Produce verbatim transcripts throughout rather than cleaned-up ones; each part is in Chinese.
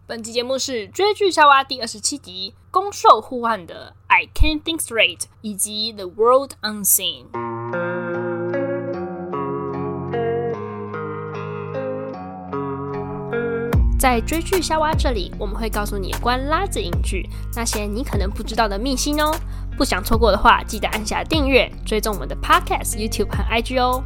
本集節目是追劇夏娃第二十七集，攻受互換的 I Can't Think Straight 以及 The World Unseen。在追劇夏娃這裡，我們會告訴你關拉子影劇那些你可能不知道的秘辛哦。不想錯過的話，記得按下訂閱，追蹤我們的 Podcast、YouTube 和 I G 哦。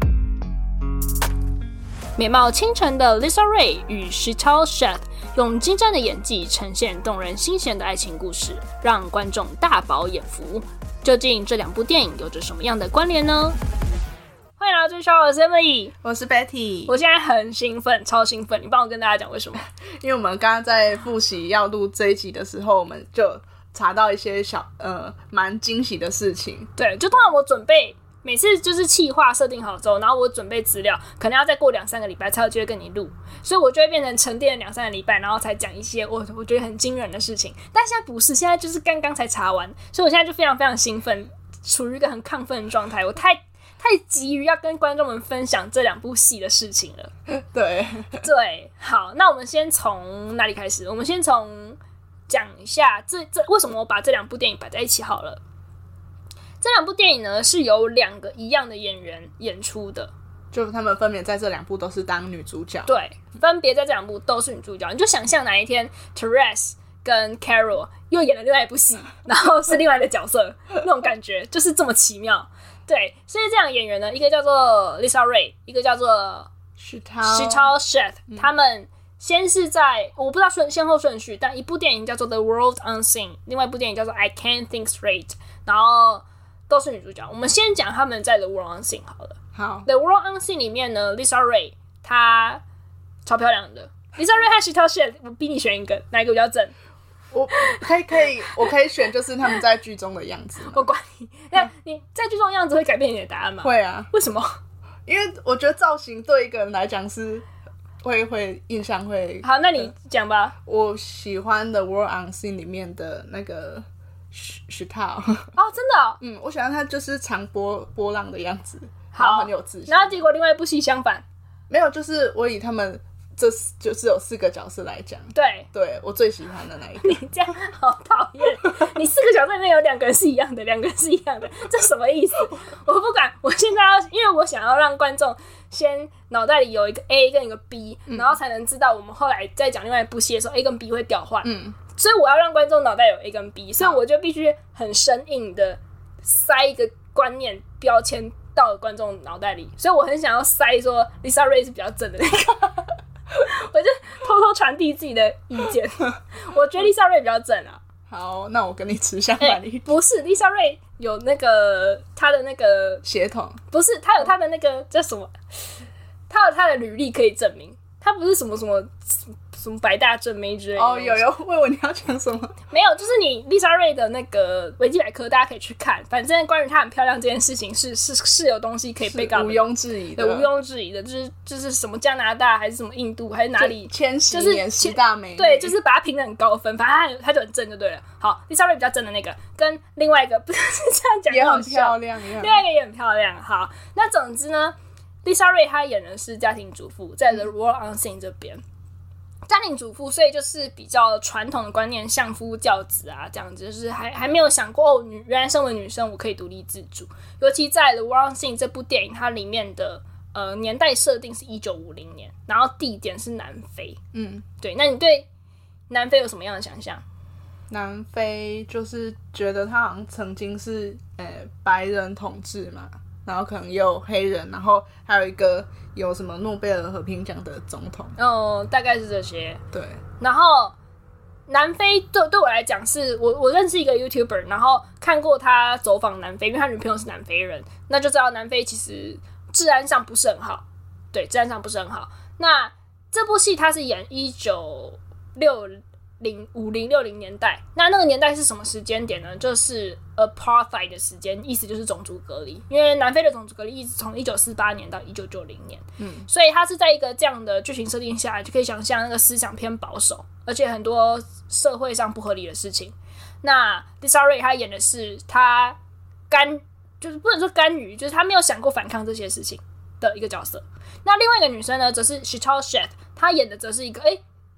美貌傾城的 Lisa Ray 與 Sheetal Sheth 用精湛的演技呈現動人心弦的愛情故事，讓觀眾大飽眼福。究竟這兩部電影有着什麼樣的關聯呢？歡迎來到追劇夏娃，我是 Emily， 我是 Betty。 我現在很興奮，超興奮！你幫我跟大家講為什麼？ 因為我們剛剛在複習要錄這一集的時候，我們就查到一些小呃蠻驚喜的事情。 對，就通常我準備。每次就是企劃設定好之後，然後我準備資料，可能要再過兩三個禮拜才有機會跟你錄，所以我就會變成沉澱了兩三個禮拜，然後才講一些我我覺得很驚人的事情。但現在不是，現在就是剛剛才查完，所以我現在就非常非常興奮，處於一個很亢奮的狀態。我太太急於要跟觀眾們分享這兩部戲的事情了。 對對，好，那我們先從哪裡開始？我們先從講一下這這為什麼我把這兩部電影擺在一起好了。這兩部電影呢，是由兩個一樣的演員演出的， 就他們分別在這兩部都是當女主角。 對，分別在這兩部都是女主角。你就想象哪一天 Therese 跟 Carol 又演了另外一部戲，然後是另外的角色，那種感覺就是這麼奇妙。對，所以這兩個演員呢，一個叫做 Lisa Ray， 一個叫做 Sheetal Sheth，嗯，他們先是在我不知道順先後順序，但一部電影叫做 The World Unseen， 另外一部電影叫做 I Can't Think Straight， 然後都是女主角。我們先講他們在 The World Unseen 好了。 好， The World Unseen 裡面呢 ，Lisa Ray 她超漂亮的。Lisa Ray 和 Sheetal Sheth， 我逼你選一個，哪一個比較正？ 我可以可以，我可以選就是他們在劇中的樣子。 我管你，那你在劇中的樣子會改变你的答案嗎？ 會啊。為什麼？因為我覺得造型對一個人來講是會會印象會。 好，那你講吧。 我喜歡 The World Unseen 裡面的那個。Sheetal 哦，真的、哦， 嗯，我喜歡他就是長波波浪的樣子， 好， 然後很有自信。 然後結果另外一部戲相反， 沒有，就是我以他們這就是有四個角色來講， 對， 對我最喜歡的那一個。 你這樣好討厭，你四個角色裡面有兩個人是一樣的，兩個人是一樣的，這什麼意思？我不管，我現在要，因為我想要讓觀眾先腦袋裡有一個 A 跟一個 B，、嗯、然後才能知道我們後來在講另外一部戲的時候 A 跟 B 會調換。嗯。所以我要讓觀眾腦袋有 A 跟 B， 所以我就必須很生硬的塞一個觀念標籤到觀眾腦袋裡，所以我很想要塞說 Lisa Ray 是比較正的那個，我就偷偷傳遞自己的意見。我覺得 Lisa Ray 比較正啊。 好，那我跟你持相反的意見。 不是 Lisa Ray 有那個他的那個血統， 不是他有他的那個叫什麼？他有他的履歷可以證明，他不是什麼什麼。什麼百大正妹之類的哦， 有有問我你要講什麼？ 沒有，就是你 Lisa Ray 的那個維基百科，大家可以去看。反正關於她很漂亮這件事情是，是是是有東西可以被告的， 毋庸置疑的， 對，毋庸置疑的，就是就是什麼加拿大還是什麼印度還是哪裡， 千禧年十大美女， 對，就是把她評得很高分，反正她她就很正就對了。好 ，Lisa Ray 比較正的那個，跟另外一個不是這樣講， 也很漂亮， 另外一個也很漂亮。好，那總之呢 ，Lisa Ray 她演的是家庭主婦，在 The World Unseen 這邊。家庭主婦，所以就是比較傳統的觀念，相夫教子啊，這樣子，就是還還沒有想過哦，女原來身為女生，我可以獨立自主。尤其在《The World Unseen》這部電影，它裡面的呃年代設定是一九五零年，然後地點是南非。嗯，對。那你對南非有什麼樣的想象？ 南非就是覺得它好像曾經是呃白人統治嘛。然後可能也有黑人，然後還有一個有什麼諾貝爾和平獎的總統， 哦，大概是這些。 對， 然後南非對對我來講是我我認識一個 YouTuber， 然後看過他走訪南非，因為他女朋友是南非人，那就知道南非其實治安上不是很好，對，治安上不是很好。那這部戲他是演一九六零五零六零年代，那那個年代是什麼時間點呢？就是 apartheid 的時間，意思就是種族隔離。因為南非的種族隔離一直從一九四八年到一九九零年，嗯，所以它是在一個這樣的劇情設定下來，就可以想象那個思想偏保守，而且很多社會上不合理的事情。那 Lisa Ray 她演的是她甘，就是不能說甘於，就是她沒有想過反抗這些事情的一個角色。那另外一個女生呢，則是 Sheetal Sheth， 她演的則是一個哎。誒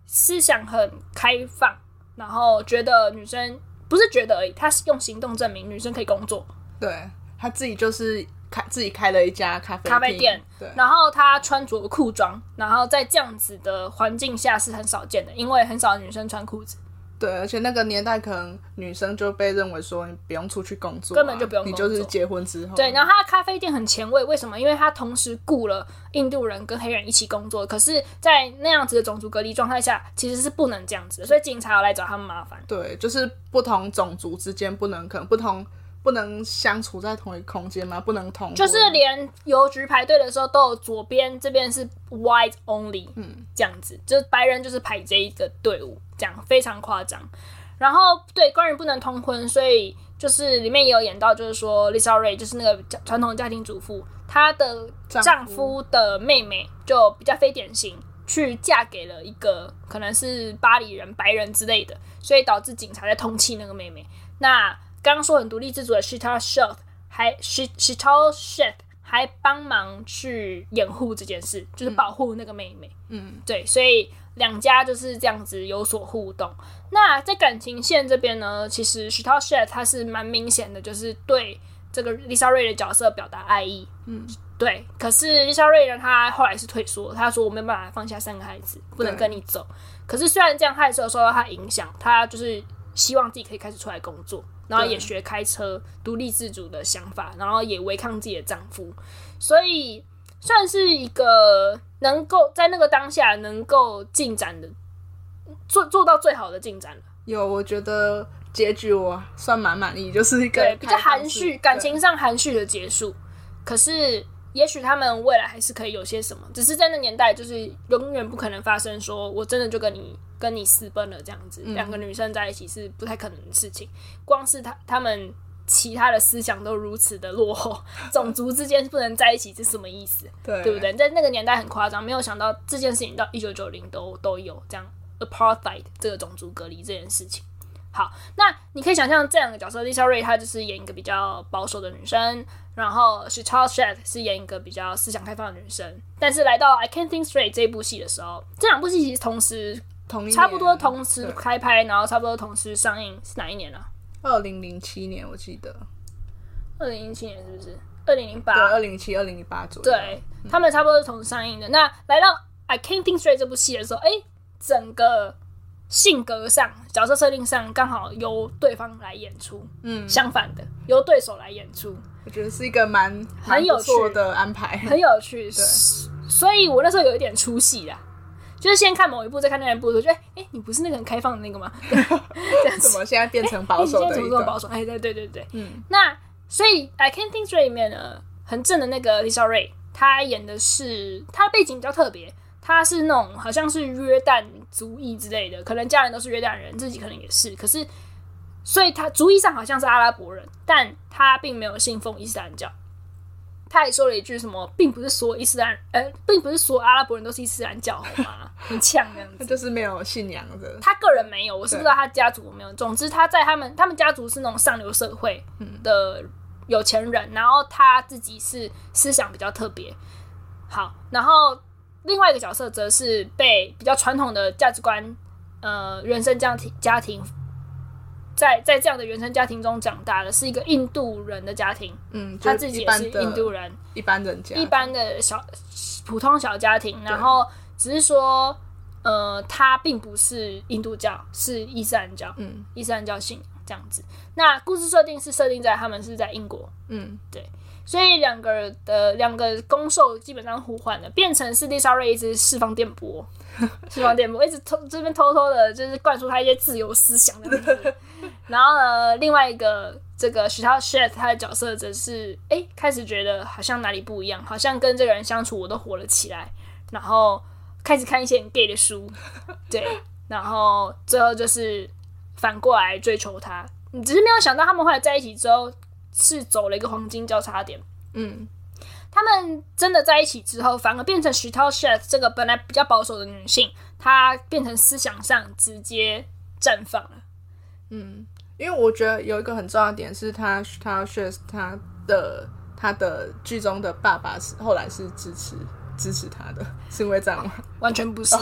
思想很開放，然後覺得女生不是覺得而已，他是用行動證明女生可以工作。 對，他自己就是開自己開了一家咖啡咖啡店， 對， 然後他穿着褲裝，然後在這樣子的環境下是很少見的，因為很少女生穿褲子。 對，而且那個年代可能女生就被認為說你不用出去工作、啊， 根本就不用工作， 你就是結婚之後。 對，然後他的咖啡店很前衛，為什麼？因為他同時雇了印度人跟黑人一起工作，可是，在那樣子的種族隔離狀態下，其實是不能這樣子的，所以警察要來找他們麻煩。 對，就是不同種族之間不能可能不同不能相處在同一個空間嗎？不能同， 就是連郵局排隊的時候都有左邊這邊是 white only， 嗯，這樣子，就是白人就是排這一個隊伍。這樣非常誇張，然後對關於不能通婚，所以就是裡面也有演到，就是說 Lisa Ray 就是那個傳統家庭主婦，她的丈夫的妹妹就比較非典型，去嫁給了一個可能是巴黎人、白人之類的，所以導致警察在通緝那個妹妹。那剛剛說很獨立自主的 Shita Sheth 還 Shita Sheth 還幫忙去掩護這件事，就是保護那個妹妹。嗯，對，所以。兩家就是這樣子有所互動。那在感情線這邊呢，其實 Shita Sheth 他是蠻明顯的，就是對這個 Lisa Ray 的角色表達愛意。嗯，對。可是 Lisa Ray 呢，他後來是退縮，他說我沒辦法放下三個孩子，不能跟你走。可是雖然這樣，他還是有受到他影響，他就是希望自己可以開始出來工作，然後也學開車，獨立自主的想法，然後也違抗自己的丈夫，所以算是一個。能夠在那個當下能夠進展的做做到最好的進展了。有， 我覺得結局我算蠻滿意，就是一個對比較含蓄，感情上含蓄的結束。可是也許他們未來還是可以有些什麼，只是在那年代就是永遠不可能發生說我真的就跟你跟你私奔了這樣子，兩、嗯、個女生在一起是不太可能的事情。光是他他們。其他的思想都如此的落後，種族之間不能在一起是什麼意思？對，對不對？在那個年代很誇張，沒有想到這件事情到一九九零都都有這樣 apartheid 這個種族隔離這件事情。好，那你可以想象這兩個角色 ，Lisa Ray 她就是演一個比較保守的女生，然後 Shita Sheth 是演一個比較思想開放的女生。但是來到 I Can't Think Straight 這一部戲的時候，這兩部戲其實同時同差不多同時開拍，然後差不多同時上映，是哪一年啊？ 二零零七年我記得， 二零零七年是不是？二零零八對，二零零七、二零零八左右。 對，嗯、他們差不多是同時上映的。那來到 I Can't Think Straight 這部戲的時候，哎、欸，整個性格上、角色設定上剛好由對方來演出，嗯，相反的由對手來演出， 我覺得是一個蠻很有趣的安排， 很有趣。對，所以我那時候有一點出戲啦。就是先看某一部，再看另外一部，我覺得，哎、欸，你不是那個很開放的那個嗎？這樣子， 怎麼現在變成保守的一個？欸、現在怎麼這麼保守？ 哎，對對對對，嗯。那所以 I Can't Think Straight 裡面呢，很正的那個 Lisa Ray，她演的是她的背景比較特別，她是那種好像是約旦族裔之類的，可能家人都是約旦人，自己可能也是。可是，所以她族裔上好像是阿拉伯人，但她並沒有信奉伊斯蘭教。他還說了一句什麼，並不是所有伊斯蘭，呃，並不是所有阿拉伯人都是伊斯蘭教，好嗎？很嗆這樣子。 他就是沒有信仰的。 他個人沒有，我是不知道他家族有沒有。總之，他在他們他們家族是那種上流社會的有錢人，嗯、然後他自己是思想比較特別。好，然後另外一個角色則是被比較傳統的價值觀，呃，原生家庭家庭。在在這樣的原生家庭中長大的，是一個印度人的家庭。嗯，他自己也是印度人， 一般人家， 一般的小普通小家庭。然後只是說，呃，他並不是印度教，是伊斯蘭教。嗯，伊斯蘭教信這樣子。那故事設定是設定在他們是在英國。嗯，對。所以兩個的兩個攻受基本上互換了，變成是 Lisa Ray 一直釋放電波，釋放電波，一直偷這邊偷偷的，就是灌輸他一些自由思想的。然後呢，另外一個這個 Shita Sheth 他的角色則是，哎，開始覺得好像哪裡不一樣，好像跟這個人相處我都活了起來，然後開始看一些很 gay 的書，對，然後最後就是反過來追求他。你只是沒有想到他們後來在一起之後是走了一個黃金交叉點。嗯，他們真的在一起之後，反而變成 Shita Sheth 這個本來比較保守的女性，她變成思想上直接綻放了。 嗯，因為我覺得有一個很重要的點是他，他 Shita Sheth 他的他的劇中的爸爸是後來是支持支持他的，是因為這樣嗎？ 完全不是。Oh.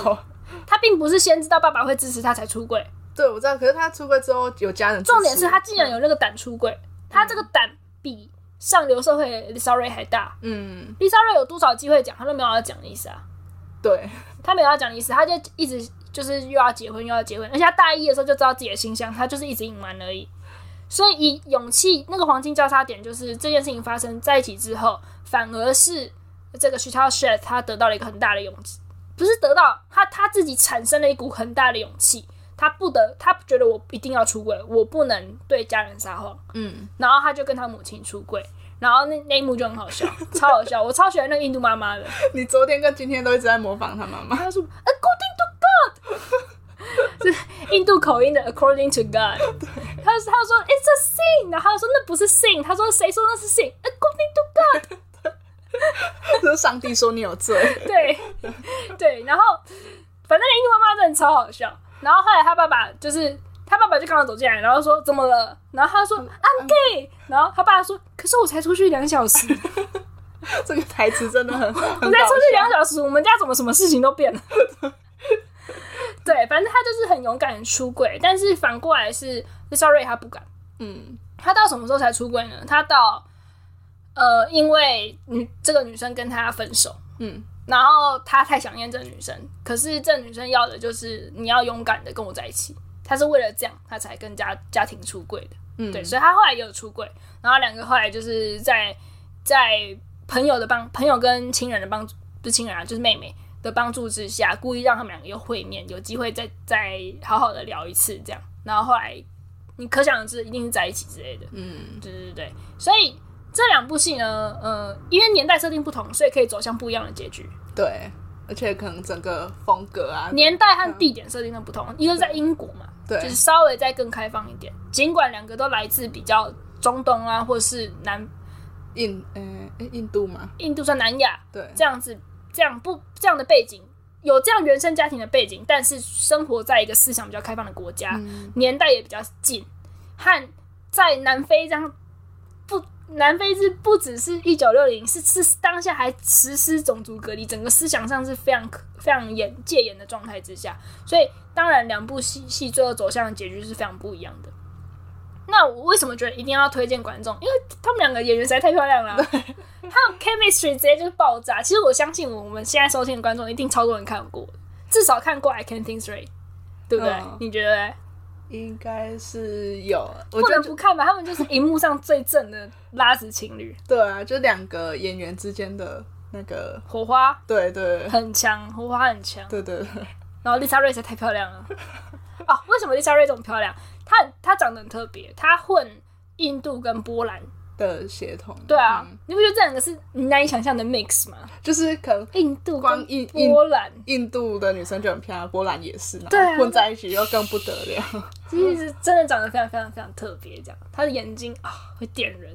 他並不是先知道爸爸會支持他才出櫃。 對，我知道。可是他出櫃之後有家人支持。 重點是他竟然有那個膽出櫃，嗯、他這個膽比上流社會的 Lisa Ray 還大。嗯，Lisa Ray 有多少機會講，他都沒有要講的意思啊。 對， 他沒有要講的意思，他就一直就是又要結婚又要結婚，而且他大一的時候就知道自己的形象，他就是一直隱瞞而已。所以以勇氣那個黃金交叉點，就是這件事情發生在一起之後，反而是這個 Chital Shed 他得到了一個很大的勇氣，不是得到他他自己產生了一股很大的勇氣。他不得，他覺得我一定要出櫃，我不能對家人撒謊。嗯，然後他就跟他母親出櫃，然後那那一幕就很好笑，超好笑，我超喜歡那個印度媽媽的。 你昨天跟今天都一直在模仿他媽媽。 他說 According to God， 是印度口音的 According to God。他他說 It's a sin， 然後他說那不是 sin， 他說誰說那是 sin？According to God， 這是上帝說你有罪。對對，然后反正印度媽媽真的超好笑。然後後來他爸爸就是他爸爸就剛好走進來，然後說怎麼了？然後他說 I'm gay， 然後他爸爸說可是我才出去兩小時。 這個台詞真的很，很我才出去兩小時，我們家怎麼什麼事情都變了？對，反正他就是很勇敢的出櫃，但是反過來是 Lisa Ray 他不敢。嗯，他到什麼時候才出櫃呢？他到呃，因為女這個女生跟他分手。嗯。然後他太想念這個女生，可是這個女生要的就是你要勇敢的跟我在一起。他是為了這樣，他才跟家家庭出櫃的。嗯，對，所以他後來也有出櫃。然後兩個後來就是在在朋友的幫朋友跟親人的幫助，不是親人啊，就是妹妹的幫助之下，故意讓他們兩個又會面，有機會再再好好的聊一次這樣。然後後來你可想而知，一定是在一起之類的。嗯，對對對，所以。這兩部戲呢，呃，因為年代設定不同，所以可以走向不一樣的結局。 對，而且可能整個風格啊， 年代和地點設定都不同。一個是在英國嘛，對，就是稍微再更開放一點。儘管兩個都來自比較中東啊，或是南印，呃，印度嘛， 印度算南亞， 對， 這樣子，這樣不這樣的背景，有這樣原生家庭的背景，但是生活在一個思想比較開放的國家，嗯、年代也比較近，和在南非這樣不。南非是不只是一九六零，是是當下還實施種族隔離，整個思想上是非常非常嚴戒嚴的狀態之下，所以當然兩部戲戲最後走向的結局是非常不一樣的。那我為什麼覺得一定要推薦觀眾？因為他們兩個演員實在太漂亮了，還有 chemistry 直接就是爆炸。其實我相信我們現在收聽的觀眾一定超多人看過，至少看過 I Can't Think Straight， 對不對？嗯、你覺得呢？ 應該是有，我不能不看吧？他們就是熒幕上最正的拉子情侶。 對啊，就兩個演員之間的那個火花， 對 對, 對， 很強，火花很強。 對對對。 然後 Lisa Ray 實在太漂亮了。哦，為什麼 Lisa Ray 這麼漂亮？她她長得很特別，她混印度跟波蘭的血統。 對啊，嗯、你不覺得這兩個是你難以想象的 mix 嗎？ 就是可能印度跟波蘭， 印度的女生就很漂亮，波蘭也是，然後混在一起又更不得了。 其實真的長得非常非常非常特別，這樣，她的眼睛啊會點人。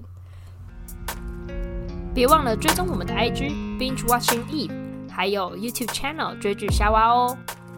別忘了追蹤我們的 I G Binge Watching Eve， 還有 YouTube Channel 追劇夏娃哦。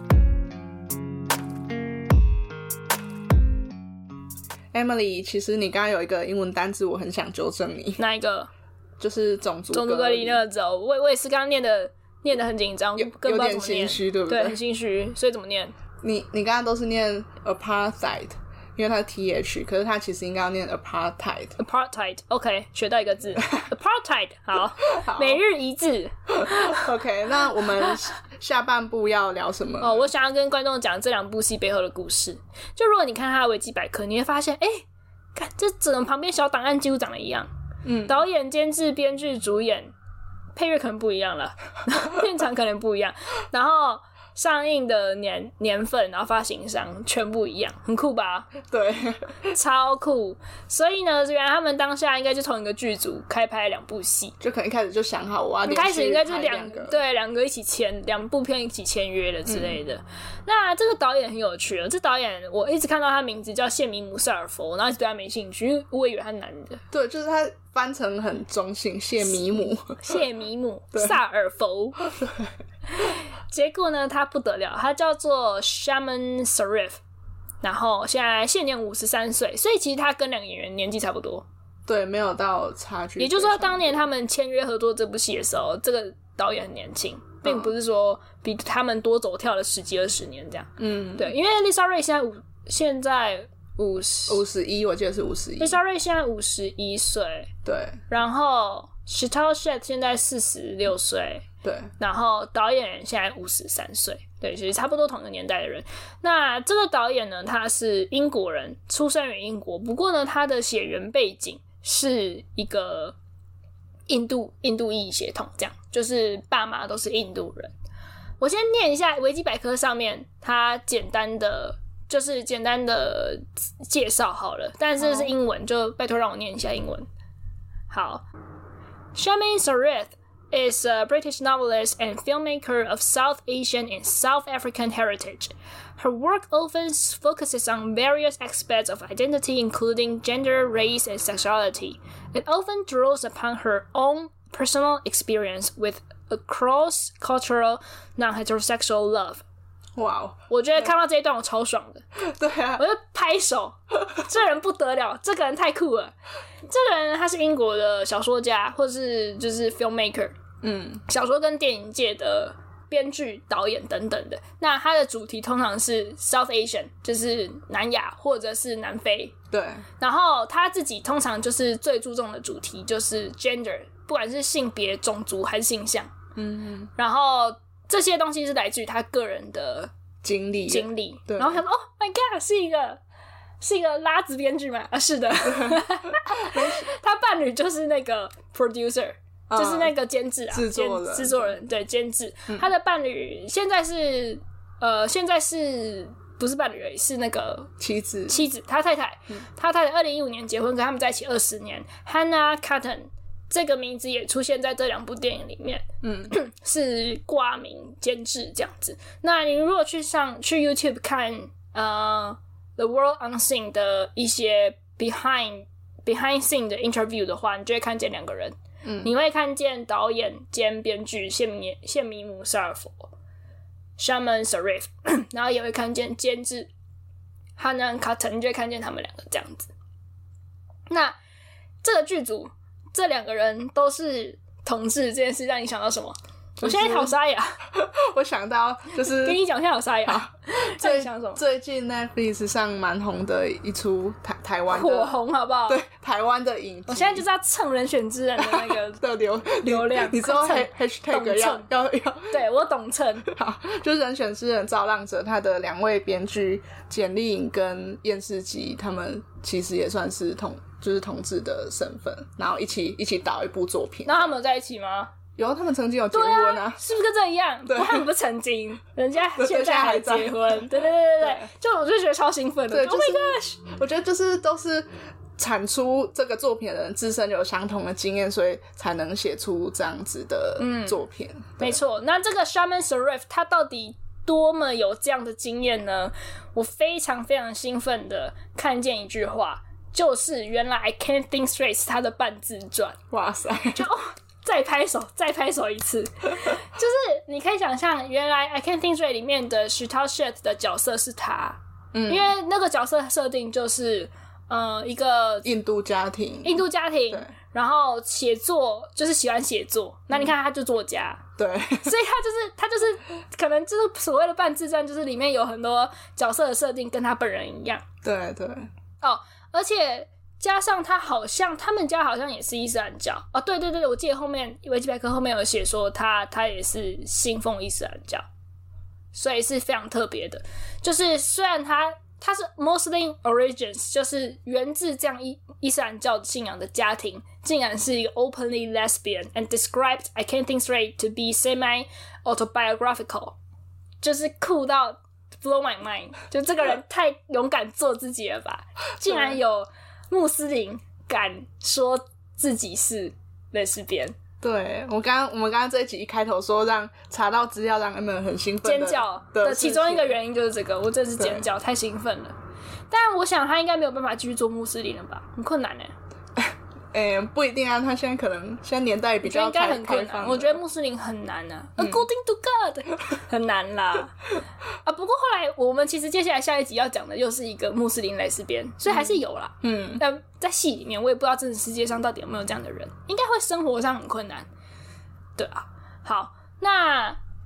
Emily， 其實你剛剛有一個英文單字，我很想糾正你。 哪一個？ 就是種族種族隔離那個字，我我也是剛剛念的念的很緊張， 有有點心虛，對不對？ 對，很心虛，所以怎麼念？ 你你剛剛都是念 apartheid， 因為它是 th， 可是它其實應該要念 apartheid。 apartheid， OK， 學到一個字，apartheid， 好，好每日一字。 OK， 那我們下半部要聊什麼？ 哦，我想要跟觀眾講這兩部戲背後的故事。就如果你看他的維基百科，你會發現，哎、欸，看這整個旁邊小檔案幾乎長得一樣。嗯，導演、監製、編劇、主演，配樂可能不一樣了，片場可能不一樣，然後上映的年年份，然後發行商全部一樣，很酷吧？對，超酷。所以呢，原來他們當下應該就同一個劇組開拍兩部戲， 就可能一開始就想好我要連續一開始應該就兩個對兩個一起簽兩部片一起簽約了之類的。嗯、那這個導演很有趣了，這導演我一直看到他名字叫謝米姆·薩爾佛，然後一直對他沒興趣，因為我以為他是男的。 對，就是他翻成很中性，謝米姆， 謝米姆·薩爾佛。結果呢，他不得了，他叫做 Shaman Sarif， 然後現在現年五十三歲，所以其實他跟兩個演員年紀差不多， 對，沒有到差距。 也就是說，當年他們簽約合作這部戲的時候，這個導演很年輕， 並不是說比他們多走跳了十幾二十年這樣。嗯，對，因為 Lisa Ray 現在五現在五十五十一，我記得是五十一。 Lisa Ray 現在五十一歲， 對， 然後 Chital Shed 現在四十六歲， 對， 然後導演現在五十三歲，對，其實差不多同一個年代的人。那這個導演呢，他是英國人，出生於英國，不過呢，他的血緣背景是一個印度印度裔血統，這樣就是爸媽都是印度人。我先念一下維基百科上面他簡單的。就是簡單的介紹好了，但是是英文， oh. 就拜託讓我念一下英文。好 Shamin Sareth is a British novelist and filmmaker of South Asian and South African heritage. Her work often focuses on various aspects of identity, including gender, race, and sexuality. It often draws upon her own personal experience with a cross-cultural, non-heterosexual love. 哇、wow, 我覺得看到這一段我超爽的。 對啊， 我就拍手，這人不得了，這個人太酷了。這個人他是英國的小說家，或是就是 filmmaker， 嗯，小說跟電影界的編劇、導演等等的。那他的主題通常是 South Asian， 就是南亞或者是南非。 對。然後他自己通常就是最注重的主題就是 gender， 不管是性別、種族還是性向。嗯嗯。然後。這些東西是來自於他個人的經歷， 經歷。 對， 然後想說，Oh my God， 是一個是一個拉子編劇嗎？啊，是的。他伴侶就是那個 producer，、嗯、就是那個監製啊， 製作人， 製作人對監製、嗯。他的伴侶現在是呃，現在是不是伴侶而已？是那個妻子， 妻子，他太太，嗯、他太太二零一五年結婚，跟他們在一起二十年。Hannah Cotton。這個名字也出現在這兩部電影裡面，嗯，是掛名監製這樣子。那你如果去上去 YouTube 看呃 The World Unseen 的一些 behind behind scene 的 interview 的話，你就會看見兩個人，嗯，你會看見導演兼編劇謝米謝米姆沙爾佛 Shamin Sareth， 然後也會看見監製 Hannah Cotton， 你就會看見他們兩個這樣子。那這個劇組。這兩個人都是同志，這件事讓你想到什麼？我現在好沙啞。 我想到就是跟你講，現在好沙啞。最想什麼？ 最近 Netflix 上蠻紅的一出台台灣火紅，好不好？ 對，台灣的影集。 我現在就是要蹭人選之人的那個的流流量。你知道 hashtag 要要要？ 對，我懂蹭。 好，就是人選之人造浪者，他的兩位編劇簡莉穎跟厭世姬，他們其實也算是同。就是同志的身份，然後一起一起導一部作品。那他們有在一起嗎？ 有，他們曾經有結婚啊， 啊是不是跟這一樣？ 對， 他們不是曾經，人家現在還結婚。對對對對對，就我就覺得超興奮的。 對、就是、 Oh my gosh！ 我覺得就是都是產出這個作品的人自身有相同的經驗，所以才能寫出這樣子的作品。嗯、 沒錯，那這個 Shamin Sareth 他到底多麼有這樣的經驗呢？我非常非常興奮的看見一句話。就是原來 I Can't Think Straight 是他的半自傳，哇塞！就哦，再拍手，再拍手一次。就是你可以想象，原來 I Can't Think Straight 裡面的 Chital Shed 的角色是他，嗯，因為那個角色設定就是呃一個印度家庭， 印度家庭，然後寫作就是喜歡寫作。那、嗯、你看他就作家， 對， 所以他就是他就是可能就是所謂的半自傳，就是裡面有很多角色的設定跟他本人一樣， 對對哦。而且加上他好像他們家好像也是伊斯蘭教哦，對對對，我記得後面維基百科後面有寫說他他也是信奉伊斯蘭教，所以是非常特別的。就是雖然他他是 Muslim origins， 就是源自這樣伊伊斯蘭教信仰的家庭，竟然是一個 openly lesbian and described I Can't Think Straight to be semi autobiographical， 就是酷到。Blow my mind！ 就這個人太勇敢做自己了吧？竟然有穆斯林敢說自己是蕾絲邊。 對，我剛剛我們剛剛這一集一開頭說讓查到資料讓他們很興奮尖叫的其中一個原因就是這個，我真的是尖叫，太興奮了。但我想他應該沒有辦法繼續做穆斯林了吧？很困難耶。 誒、欸，不一定啊，他現在可能現在年代比較開，應該很困難。 我覺得穆斯林很難啊、嗯、，According to God 很難啦。啊，不過後來我們其實接下來下一集要講的又是一個穆斯林蕾絲邊，所以還是有啦。嗯，但在戲裡面我也不知道真實世界上到底有沒有這樣的人，應該會生活上很困難。對啊，好，那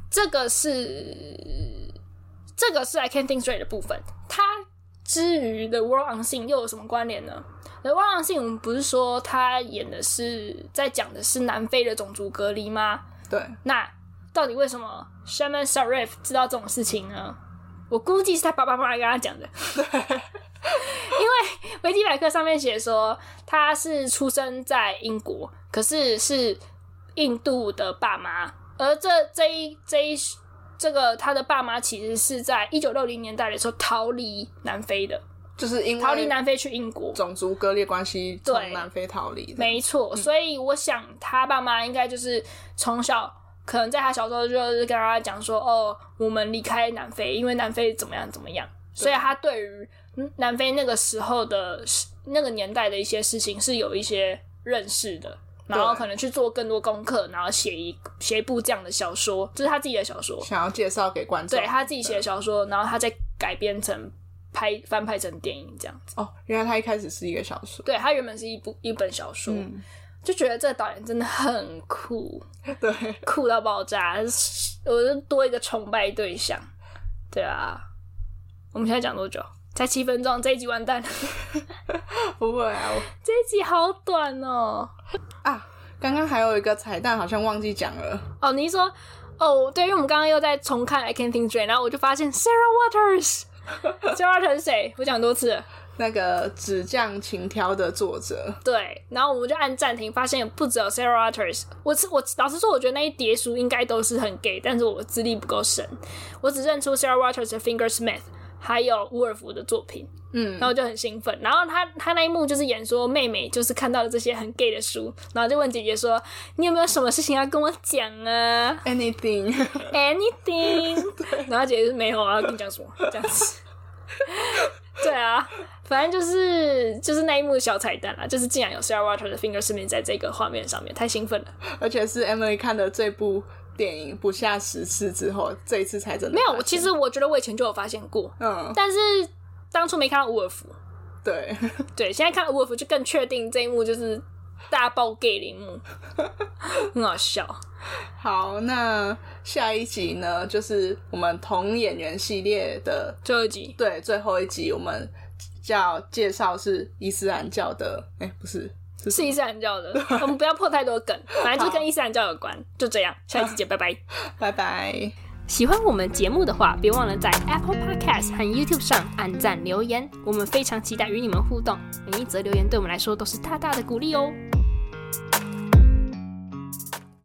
這個是這個是 I Can't Think Straight 的部分。它至於 The World Unseen 又有什麼關聯呢？ The World Unseen 我們不是說他演的是在講的是南非的種族隔離嗎？ 對。 那到底為什麼 Shaman Sharif 知道這種事情呢？我估計是他爸爸媽媽跟他講的。對。因為維基百科上面寫說他是出生在英國，可是是印度的爸媽，而這這一這一這個他的爸媽其實是在一九六零年代的時候逃離南非的， 就是因為逃離南非去英國， 種族割裂關係從南非逃離。沒錯，所以我想他爸媽應該就是從小可能在他小時候就是跟他講說，哦，我們離開南非，因為南非怎麼樣怎麼樣，所以他對於南非那個時候的那個年代的一些事情是有一些認識的，然後可能去做更多功課，然後寫一寫一部這樣的小說，這是他自己的小說， 想要介紹給觀眾。對， 他自己寫的小說，然後他再改編成拍翻拍成電影這樣子。 哦，原來他一開始是一個小說。 對，他原本是一部一本小說，嗯，就覺得這個導演真的很酷， 對， 酷到爆炸，我就多一個崇拜對象。對啊，我們現在講多久？才七分鐘，這一集完蛋了。 不會啊，我這一集好短哦。 啊，剛剛還有一個彩蛋，好像忘記講了。 哦，你是說，哦，對，因為我們剛剛又在重看《I Can't Think Straight》，然後我就發現 Sarah Waters，Sarah Waters 是誰？我講很多次了。 那個紙匠情挑的作者。 對，然後我們就按暫停，發現不只有 Sarah Waters。我我老實說，我覺得那一疊書應該都是很 gay，但是我資歷不夠深，我只認出 Sarah Waters 的 Fingersmith。還有伍爾夫的作品，嗯，然後就很興奮。然後他他那一幕就是演說妹妹就是看到了這些很 gay 的書，然後就問姐姐說：“你有沒有什麼事情要跟我講啊 ？”Anything, anything。然後姐姐就沒有啊，要跟你講什麼這樣子。對啊，反正就是就是那一幕小彩蛋啦，就是竟然有 Sarah Waters 的 Fingersmith 在這個畫面上面，太興奮了。 而且是 Emily 看的這部電影不下十次之後，這一次才真的沒有。其實我覺得我以前就有發現過，嗯，但是當初沒看到伍爾夫。 對對，現在看到伍爾夫就更確定這一幕就是大爆 gay 的一幕，很好笑。 好，那下一集呢，就是我們同演員系列的最後一集。對， 最後一集我們叫介紹是伊斯蘭教的，哎、欸，不是。是, 是伊斯蘭教的，我們不要破太多梗，反正就是跟伊斯蘭教有關，就這樣。下一次見，拜拜， 拜拜。 喜歡我們節目的話，別忘了在 Apple Podcast 和 YouTube 上按讚留言，我們非常期待與你們互動。每一則留言對我們來說都是大大的鼓勵哦。